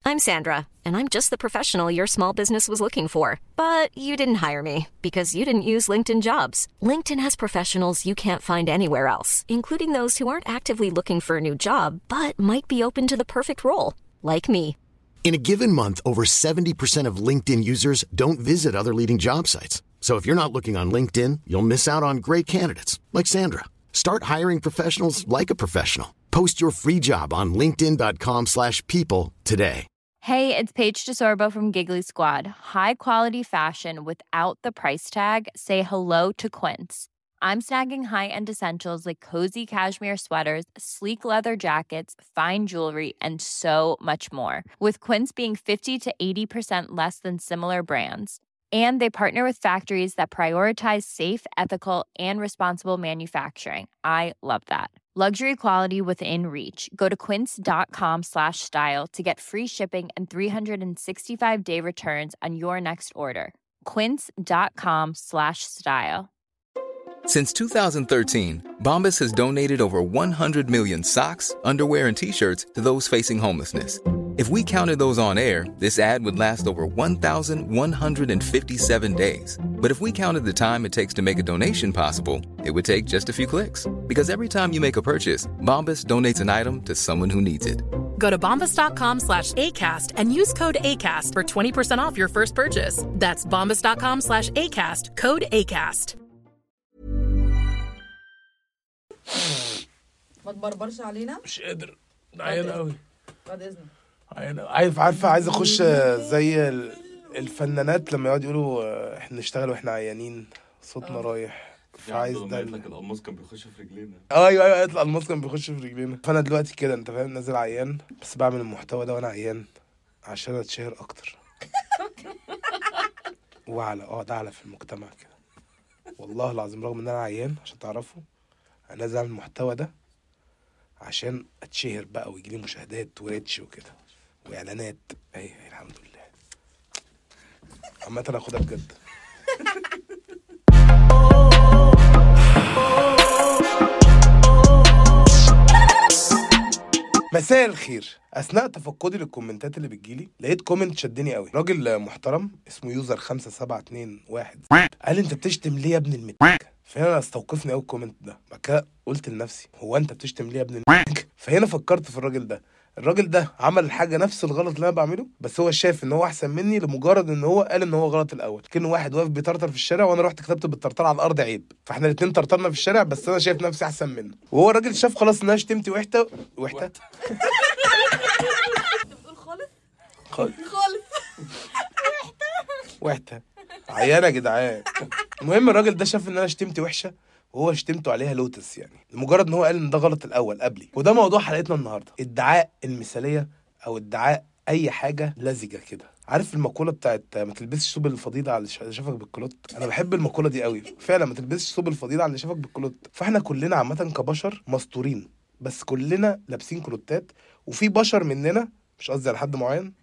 I'm Sandra, and I'm just the professional your small business was looking for. But you didn't hire me because you didn't use LinkedIn Jobs. LinkedIn has professionals you can't find anywhere else, including those who aren't actively looking for a new job, but might be open to the perfect role, like me. In a given month, over 70% of LinkedIn users don't visit other leading job sites. So if you're not looking on LinkedIn, you'll miss out on great candidates like Sandra. Start hiring professionals like a professional. Post your free job on linkedin.com/people today. Hey, it's Paige DeSorbo from Giggly Squad. High quality fashion without the price tag. Say hello to Quince. I'm snagging high-end essentials like cozy cashmere sweaters, sleek leather jackets, fine jewelry, and so much more. With Quince being 50 to 80% less than similar brands. And they partner with factories that prioritize safe, ethical, and responsible manufacturing. I love that. Luxury quality within reach. Go to quince.com/style to get free shipping and 365-day returns on your next order. Quince.com/style. Since 2013, Bombas has donated over 100 million socks, underwear, and T-shirts to those facing homelessness. If we counted those on air, this ad would last over 1,157 days. But if we counted the time it takes to make a donation possible, it would take just a few clicks. Because every time you make a purchase, Bombas donates an item to someone who needs it. Go to bombas.com/ACAST and use code ACAST for 20% off your first purchase. That's bombas.com/ACAST, code ACAST. ما تبربرش علينا. مش قادر، عيان قوي. بعد اذنك. عايز اخش زي الفنانات لما يقعدوا يقولوا احنا نشتغل واحنا عيانين، صوتنا رايح. فعايز ده القماص كان بيخش في رجلينا. ايوه القماص كان بيخش في رجلينا. فانا دلوقتي كده انت فاهم نازل عيان، بس بعمل المحتوى ده وانا عيان عشان اتشهر اكتر اعلى في المجتمع كده. والله العظيم رغم ان انا عيان عشان تعرفوا انا نازل اعمل المحتوى ده عشان اتشهر بقى ويجيلي مشاهدات وريتش وكده واعلانات. الحمد لله. عامة انا اخدها بجد. مساء الخير. اثناء تفقدي للكومنتات اللي بتجيلي لقيت كومنت شدني قوي. راجل محترم اسمه يوزر 5721 قال انت بتشتم ليه يا ابن المتك؟ فهنا استوقفني قوي الكومنت ده. بعد كده قلت لنفسي هو انت بتشتم ليه يا ابن المتك؟ فهنا فكرت في الراجل ده عمل الحاجه نفس الغلط اللي انا بعمله، بس هو شايف ان هو احسن مني لمجرد ان هو قال ان هو غلط الاول. كأنه واحد واقف بيطرطر في الشارع وانا رحت كتبت بالطرطر على الارض عيب، فاحنا الاثنين طرطرنا في الشارع بس انا شايف نفسي احسن منه، وهو الراجل شاف خلاص ان انا شتمتي وحته بتقول خالص وحته عيانه يا جدعان. المهم الراجل ده شاف ان انا شتمتي وحشه وهو شتمته عليها لوتس، يعني لمجرد ان هو قال ان ده غلط الاول قبلي. وده موضوع حلقتنا النهارده، ادعاء المثاليه او ادعاء اي حاجه لزجه كده. عارف المقوله بتاعت ما تلبسش ثوب الفضيله على اللي شافك بالكلوت؟ انا بحب المقوله دي قوي فعلا، ما تلبسش ثوب الفضيله على اللي شافك بالكلوت. فاحنا كلنا عامه كبشر مستورين، بس كلنا لابسين كلوتات، وفي بشر مننا مش قصدي على حد معين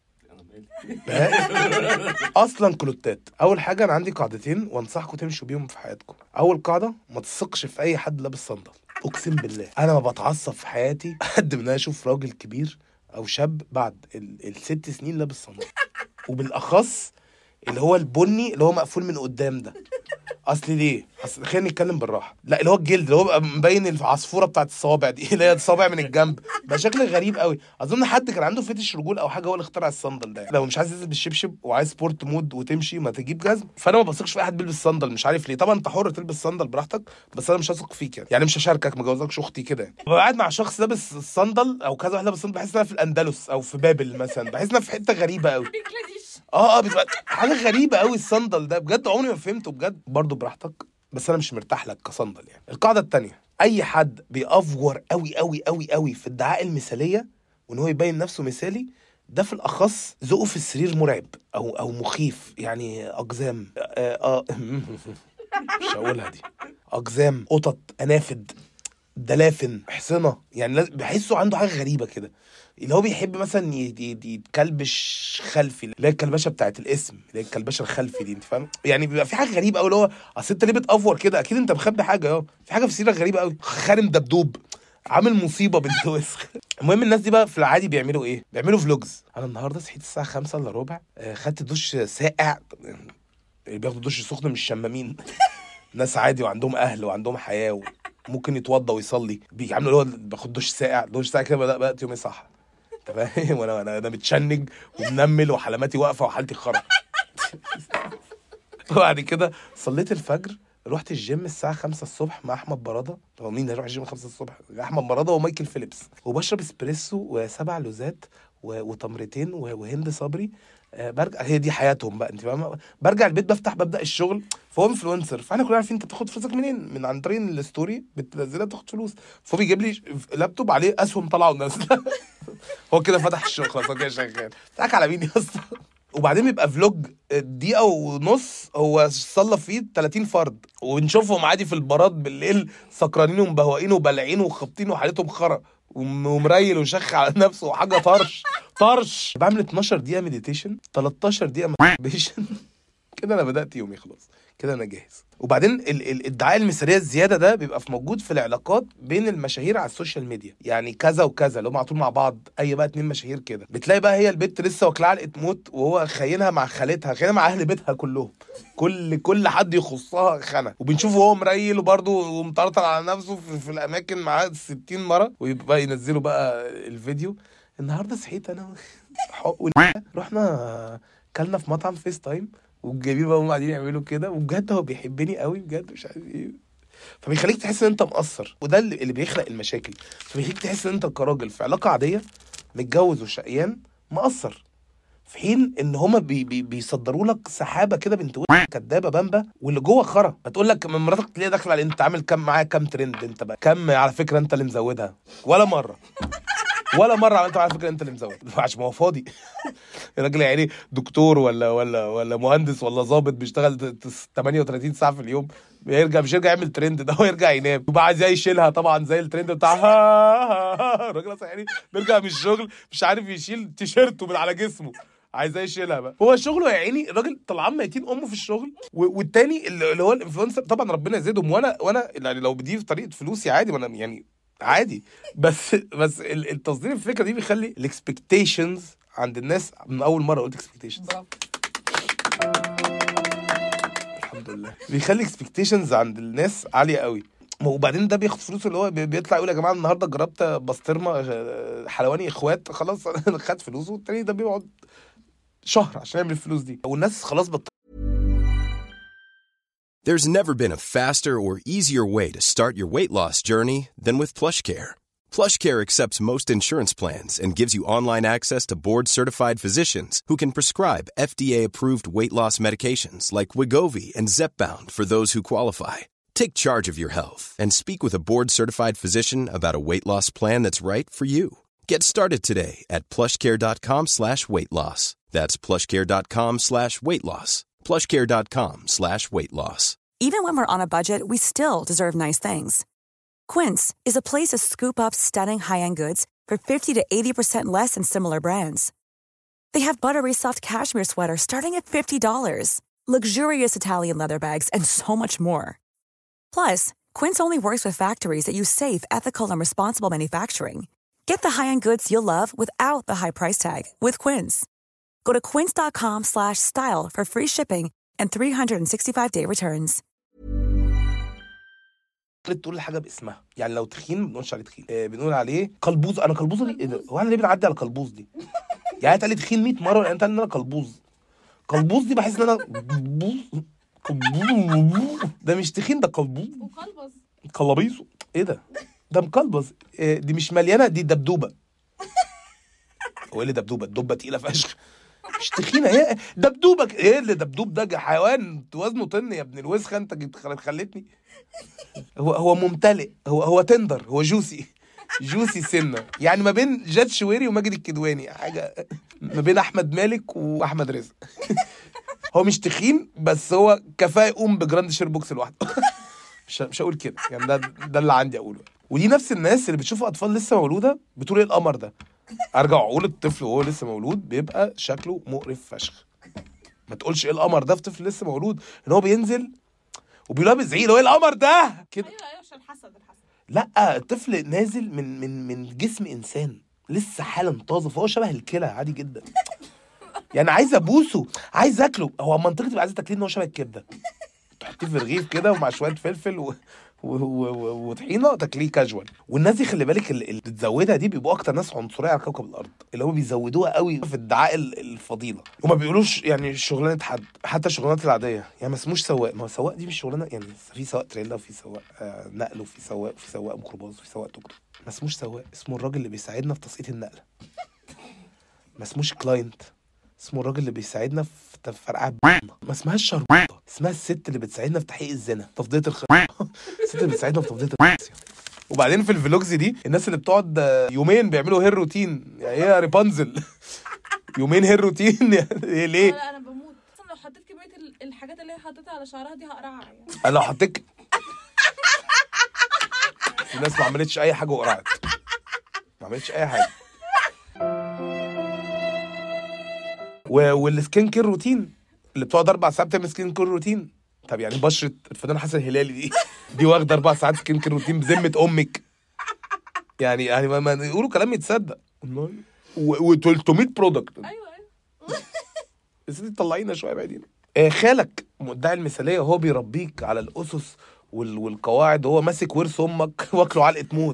اصلا كلوتات. اول حاجه انا عندي قاعدتين وانصحكم تمشوا بيهم في حياتكم. اول قاعده، ما تثقش في اي حد لابس صندل. اقسم بالله انا ما بتعصب في حياتي قد ما انا اشوف راجل كبير او شاب بعد ال6 سنين لابس صندل، وبالاخص اللي هو البني اللي هو مقفول من قدام ده. اصل ليه؟ خلينا نتكلم بالراحه. لا اللي هو الجلد اللي هو بقى مبين العصفوره بتاعت الصوابع دي اللي هي الصابع من الجنب، بقى شكل غريب قوي. اظن حد كان عنده فتش رجول او حاجه هو اللي اخترع الصندل ده. لو مش عايز تنزل بالشبشب وعايز سبورت مود وتمشي ما تجيب جزم. فانا ما بثقش في اي حد بيلبس صندل، مش عارف ليه. طبعا انت حر تلبس صندل براحتك، بس انا مش هثق فيك يعني مش هشاركك، ما جوزكش اختي كده يعني. ببقى قاعد مع شخص لابس الصندل او كذا واحد لابس الصندل، بحس ان انا في الاندلس او في بابل مثلا، بحس ان انا في حته غريبه قوي. بتبقى حاجه غريبه قوي الصندل ده بجد، عمري ما فهمته بجد. برضو براحتك، بس انا مش مرتاح لك كصندل يعني. القاعده الثانيه، اي حد بيأفور قوي قوي قوي قوي في ادعاء المثاليه وان هو يبين نفسه مثالي، ده في الاخص ذوقه في السرير مرعب او مخيف يعني. اقزام مش هقولها دي. اقزام، قطط، انافد، دلافن، حصنه، يعني بحسه عنده حاجه غريبه كده. اللي هو بيحب مثلا يتكلبش خلفي، اللي هي الكلبشه بتاعت الاسم، اللي هي الكلبشه الخلفي دي، انت فاهم يعني. بيبقى في حاجه غريبه قوي اللي هو اصل انت ليه بتأفور كده؟ اكيد انت مخبي حاجه. في حاجه في سيرك غريبه قوي. خارم دبدوب، عامل مصيبه بنت وسخ. المهم الناس دي بقى في العادي بيعملوا ايه؟ بيعملوا فلوجز. انا النهارده صحيت الساعه 5:15 خدت دش ساقع. اللي بياخدوا دش سخن مش شمامين. ناس عادي وعندهم اهل وعندهم حياه وممكن يتوضى ويصلي، بيعملوا اللي هو باخد دش ساقع كده. بدات يومي صح تمام. وانا متشنج ومنمل وحلماتي واقفه وحالتي خرا. وبعد كده صليت الفجر، رحت الجيم الساعه 5 الصبح مع احمد براده. هو مين هيروح الجيم 5 الصبح؟ احمد براده ومايكل فيليبس. وبشرب اسبريسو و7 لوزات وتمرتين وهند صبري. برجع، هي دي حياتهم بقى، انت فاهمه. برجع البيت ببدا الشغل. فهو انفلونسر، فاحنا كلنا عارفين انت بتاخد فلوسك منين، من عن طريق الستوري بتنزلها تاخد فلوس. فهو بيجيب لي لابتوب عليه اسهم طالعه ونازله. هو كده فتح الشغل خلاص، هو كده شغال. بتاعك على مين يا اسطى؟ وبعدين يبقى فلوج دقيقه ونص هو صلى فيه 30 فرد، ونشوفهم عادي في البارات بالليل سكرانين ومبهوقين وبلعين وخابطين وحالتهم خرا ومريل وشخ على نفسه وحاجه طرش. بعمل 12 دقيقه مديتيشن، 13 دقيقه مديتيشن. كده انا بدات يومي خلاص، كده انا جاهز. وبعدين الادعاء المثاليه الزياده ده بيبقى في موجود في العلاقات بين المشاهير على السوشيال ميديا. يعني كذا وكذا اللي هم على طول مع بعض، اي بقى 2 مشاهير كده، بتلاقي بقى هي البت لسه واكله علقه موت وهو خاينها مع خالتها، خاينها مع اهل بيتها كلهم، كل حد يخصها خانه. وبنشوفه هو مريل وبرده ومطرطر على نفسه في الاماكن معاه 60 مره، ويبقى ينزلوا بقى الفيديو. النهارده صحيت انا رحنا كلنا في مطعم فيس تايم، والجميل بقى هم قاعدين يعملوا كده، وبجد هو بيحبني قوي بجد، مش عارف ايه. فبيخليك تحس ان انت مقصر، وده اللي بيخلق المشاكل. فبيخليك تحس ان انت كراجل في علاقه عاديه متجوز وشقيان مقصر، في حين ان هما بيصدروا لك سحابه كده بنت كدابه بامبا، واللي جوه خرا. هتقول لك من مراتك تلاقي داخله على انت عامل كام معايا، كام ترند انت بقى، كام على فكره انت اللي مزودها. ولا مره عملت على فكره انت اللي مزود، عشان هو فاضي. الراجل يعني دكتور ولا مهندس ولا ضابط بيشتغل 38 ساعه في اليوم، مش يرجع يعمل ترند ده، هو يرجع ينام وبقى عايز يشيلها طبعا زي الترند بتاع الراجل يعني بيرجع من الشغل مش عارف يشيل تيشيرته من على جسمه، عايز يشيلها بقى. هو شغله يا عيني الراجل طلعان ميتين امه في الشغل. والتاني اللي هو الانفلونسر طبعا ربنا يزيدهم، وانا يعني لو بدي في طريقه فلوسي عادي، وانا يعني عادي. بس التصدير الفكره دي بيخلي الاكسبكتيشنز عند الناس، من اول مره قلت اكسبكتيشنز الحمد لله، بيخلي اكسبكتيشنز عند الناس عاليه قوي. وبعدين ده بياخد فلوس، اللي هو بيطلع يقول يا جماعه النهارده جربت بسطرمه حلواني اخوات، خلاص خد فلوسه. والتاني ده بيقعد شهر عشان يعمل الفلوس دي، والناس خلاص There's never been a faster or easier way to start your weight loss journey than with PlushCare. PlushCare accepts most insurance plans and gives you online access to board-certified physicians who can prescribe FDA-approved weight loss medications like Wegovy and Zepbound for those who qualify. Take charge of your health and speak with a board-certified physician about a weight loss plan that's right for you. Get started today at plushcare.com/weightloss. That's plushcare.com/weightloss. plushcare.com/weightloss. Even when we're on a budget, we still deserve nice things. Quince is a place to scoop up stunning high-end goods for 50 to 80% less than similar brands. They have buttery soft cashmere sweaters starting at $50, luxurious Italian leather bags, and so much more. Plus, Quince only works with factories that use safe, ethical, and responsible manufacturing. Get the high-end goods you'll love without the high price tag with Quince. Go to quince.com/style for free shipping and 365-day returns. تقول حاجه باسمها، يعني لو تخين ما بنقولش عليه تخين، بنقول عليه قلبوز. انا قلبوزه دي ايه ده؟ هو انا ليه بنعدي على قلبوز دي؟ يعني انت قال لي تخين 100 مره، يعني انت قال لي ان انا قلبوز دي بحس ان انا ده مش تخين، ده قلبوز قلبيزه. ايه ده مقلبز. دي مش مليانه، دي دبدوبه. هو ايه اللي دبدوبه؟ الدبه تقيله فشخ، مش تخينه هي دبدوبه. ايه اللي دبدوب ده؟ حيوان وزنه طن يا ابن الوسخه، انت خلتني. هو ممتلئ، هو تندر، هو جوسي سنه، يعني ما بين جاد شويري وماجد الكدواني، حاجه ما بين احمد مالك واحمد رزق. هو مش تخين، بس هو كفايه يقوم بجراند شير بوكس لوحده. مش هقول كده يعني، ده اللي عندي اقوله. ودي نفس الناس اللي بتشوف اطفال لسه مولوده بتقول ايه القمر ده. ارجع اقول الطفل وهو لسه مولود بيبقى شكله مقرف فشخ. ما تقولش ايه القمر ده في طفل لسه مولود، ان هو بينزل وبيلعب زعيق، ايه القمر ده كده. ايوه عشان الحسد. لا الطفل نازل من جسم انسان لسه حالا طازه، فهو شبه الكلى عادي جدا. يعني عايز ابوسه، عايز اكله. هو منطقه تبقى عايز تاكليه ان هو شبه الكبده، تحطيه في رغيف كده ومع شويه فلفل وطحينه تاكليه كاجوال. والناس دي خلي بالك اللي بتزودها دي بيبقوا اكتر ناس عنصريه على كوكب الارض، اللي هم بيزودوها قوي في ادعاء الفضيله، وما بيقولوش يعني شغلانه حد. حتى الشغلانات العاديه يعني ما اسموش سواق، ما هو سواق دي مش شغلانه. يعني في سواق تريلا وفي سواق نقل وفي سواق ميكروباص وفي سواق توك توك. ما اسموش سواق، اسمه الراجل اللي بيساعدنا في تسقيط النقله. ما اسموش كلاينت، اسمه الراجل اللي بيساعدنا في فرقعه. ما اسمهاش شربوطه، اسمها الست اللي بتساعدنا في تحقيق الزنا، تفضيه الست اللي بتساعدنا في تفضيه وبعدين في الفلوجز دي الناس اللي بتقعد يومين بيعملوا هير روتين. يعني ايه يا ريبانزل؟ يومين هير روتين ايه ليه؟ لا انا بموت اصلا لو حطيت كميه الحاجات اللي هي حطيتها على شعرها دي هقرعها يعني. انا لو حطيت الناس ما عملتش اي حاجه وقرعت، ما عملتش اي حاجه. والسكين كير روتين اللي بتقعد 4 ساعات بتعمل سكين كير روتين. طب يعني بشرة الفنان حسن الهلالي دي واخده 4 ساعات سكين كير روتين بذمه امك؟ يعني ما يقولوا كلام يتصدق. و300 برودكت. ايوه بس انت طلعينا شويه بعدين. خالك مدعي المثاليه وهو بيربيك على الاسس والقواعد، وهو ماسك ورث امك واكله علقه موت.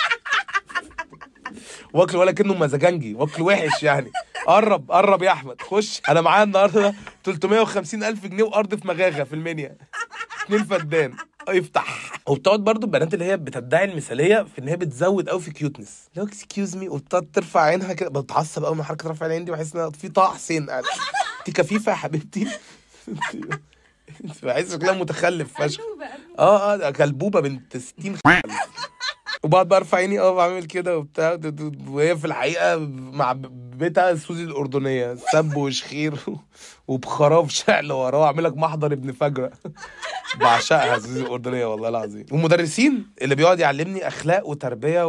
واكله ولا كأنه مزاجنجي، واكله وحش يعني. قرب يا احمد خش. انا معايا النهارده 350,000 جنيه وارض في مغاغه في المنيا، 2 فدان يفتح. وبتقعد برضو البنات اللي هي بتدعي المثاليه في ان هي بتزود قوي في كيوتنس، لو اكسكيوز مي، وبتقعد ترفع عينها كده. بتعصب قوي من حركه رفع العين دي، بحس انها في طه حسين قاعد. انت كفيفه يا حبيبتي. بحس شكلها متخلف فشخ. كلبوبه بنت 60. وبعد برفع عيني بعمل كده وبتاع، وهي في الحقيقه مع بيتها سوزي الاردنيه، سب وشخير وبخراف شعل وراه، اعمل لك محضر ابن فجره. بعشقها سوزي الاردنيه والله العظيم. ومدرسين اللي بيقعد يعلمني اخلاق وتربيه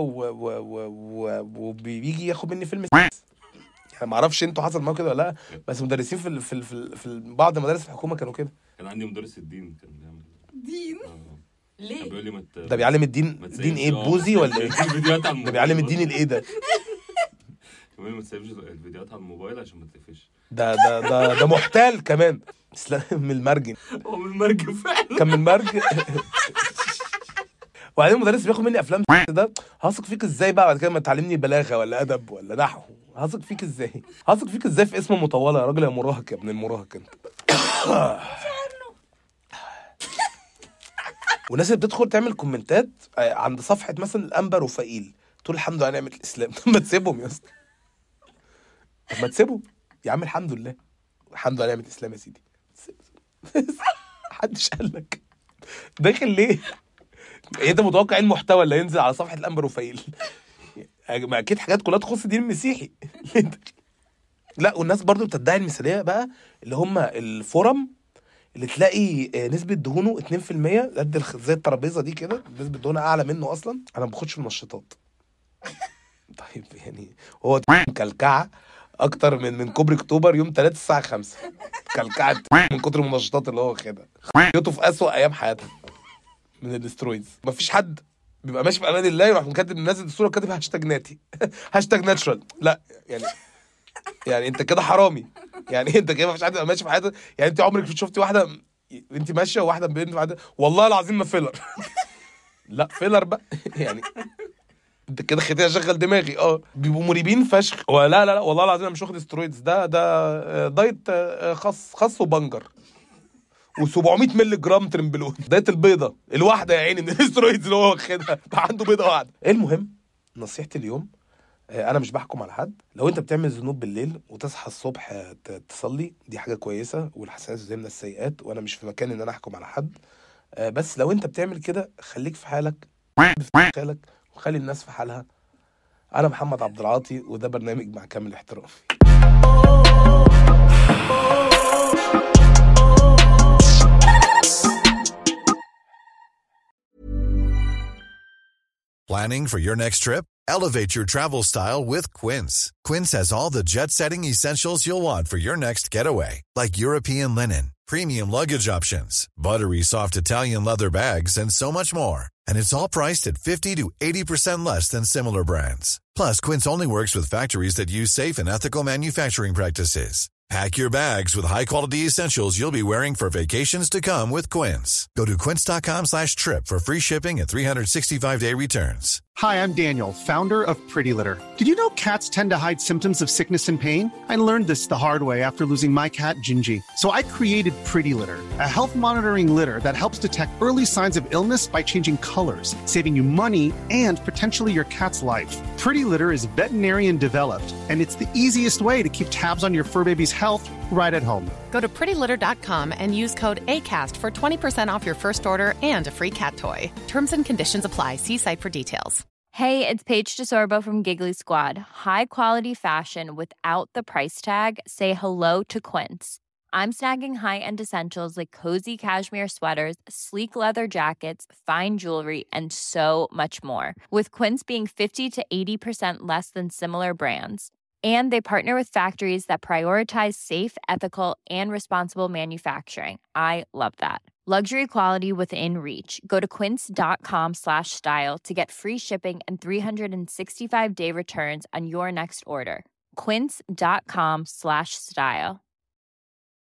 وبيجي ياخد مني فيلم. يعني ما اعرفش انتوا حصل معاكم كده ولا لا، بس مدرسين في بعض مدارس الحكومه كانوا كده. كان عندي مدرس الدين كان بيعمل دين. ليه؟ بيقول لي ده بيعلم الدين. دين ايه، بوزي ولا ايه؟ ده بيعلم الدين الايه ده؟ كمان ما تسيبش الفيديوهات على الموبايل عشان ما تقفش. ده محتال كمان. من المرجن. هو من المرجن فعلا. كان من المرجن. وبعدين المدرس بياخد مني افلام ده. هثق فيك ازاي بقى بعد كده ما تعلمني بلاغه ولا ادب ولا نحو؟ هثق فيك ازاي في اسم مطوله يا راجل يا مراهق، يا ابن المراهق انت. والناس اللي بتدخل تعمل كومنتات عند صفحه مثلا الانبر وفائيل، تقول الحمد لله نعمه الاسلام. طب ما تسيبهم يا اسطى، طب ما تسيبهم يا عم. الحمد لله نعمه الاسلام يا سيدي. محدش قال لك داخل ليه؟ انت متوقع ايه المحتوى اللي هينزل على صفحه الانبر وفائيل؟ ما اكيد حاجات كلها تخص الدين المسيحي. لا والناس برضو بتدعي المثاليه بقى، اللي هم الفورم اللي تلاقي نسبه دهونه 2% قد زي الترابيزه دي كده، نسبه دهونه اعلى منه اصلا. انا ما باخدش منشطات. طيب يعني هو كلكعه اكتر من كوبري اكتوبر يوم 3 الساعه 5. كلكعه من كتر المنشطات اللي هو واخدها. يوتو في اسوأ ايام حياته من الاسترويدز. مفيش حد بيبقى ماشي في امان الله يروح مكاتب منزل الصوره كاتب هاشتاج ناتي، هاشتاج ناتشرال. لا يعني انت كده حرامي. يعني انت كده مفيش حد ماشي في حياته. يعني انت عمرك شفتي واحده انت ماشيه وواحده بنت واحده والله العظيم ما فيلر؟ لا فيلر بقى. يعني انت كده خديها شغل دماغي. بيبقوا مريبين فشخ. ولا لا والله العظيم انا مش واخد استرويدز. ده دايت خاص وبنجر و700 مللي جرام ترمبلون. دايت البيضه الواحده يا عيني من الاسترويدز اللي هو واخدها، عنده بيضه واحده. المهم نصيحتي اليوم، انا مش بحكم على حد. لو انت بتعمل ذنوب بالليل وتصحى الصبح تصلي، دي حاجه كويسه، والحسنات زي من السيئات، وانا مش في مكان ان انا احكم على حد. بس لو انت بتعمل كده خليك في حالك وخلي الناس في حالها. انا محمد عبد العاطي، وده برنامج مع كامل احترام. Planning for your next trip? Elevate your travel style with Quince. Quince has all the jet-setting essentials you'll want for your next getaway, like European linen, premium luggage options, buttery soft Italian leather bags, and so much more. And it's all priced at 50 to 80% less than similar brands. Plus, Quince only works with factories that use safe and ethical manufacturing practices. Pack your bags with high-quality essentials you'll be wearing for vacations to come with Quince. Go to quince.com/trip for free shipping and 365-day returns. Hi, I'm Daniel, founder of Pretty Litter. Did you know cats tend to hide symptoms of sickness and pain? I learned this the hard way after losing my cat, Gingy. So I created Pretty Litter, a health monitoring litter that helps detect early signs of illness by changing colors, saving you money and potentially your cat's life. Pretty Litter is veterinarian developed, and it's the easiest way to keep tabs on your fur baby's health right at home. Go to prettylitter.com and use code ACAST for 20% off your first order and a free cat toy. Terms and conditions apply. See site for details. Hey, it's Paige DeSorbo from Giggly Squad. High quality fashion without the price tag. Say hello to Quince. I'm snagging high-end essentials like cozy cashmere sweaters, sleek leather jackets, fine jewelry, and so much more. With Quince being 50 to 80% less than similar brands. And they partner with factories that prioritize safe, ethical, and responsible manufacturing. I love that. Luxury quality within reach. Go to quince.com/style to get free shipping and 365-day returns on your next order. Quince.com/style.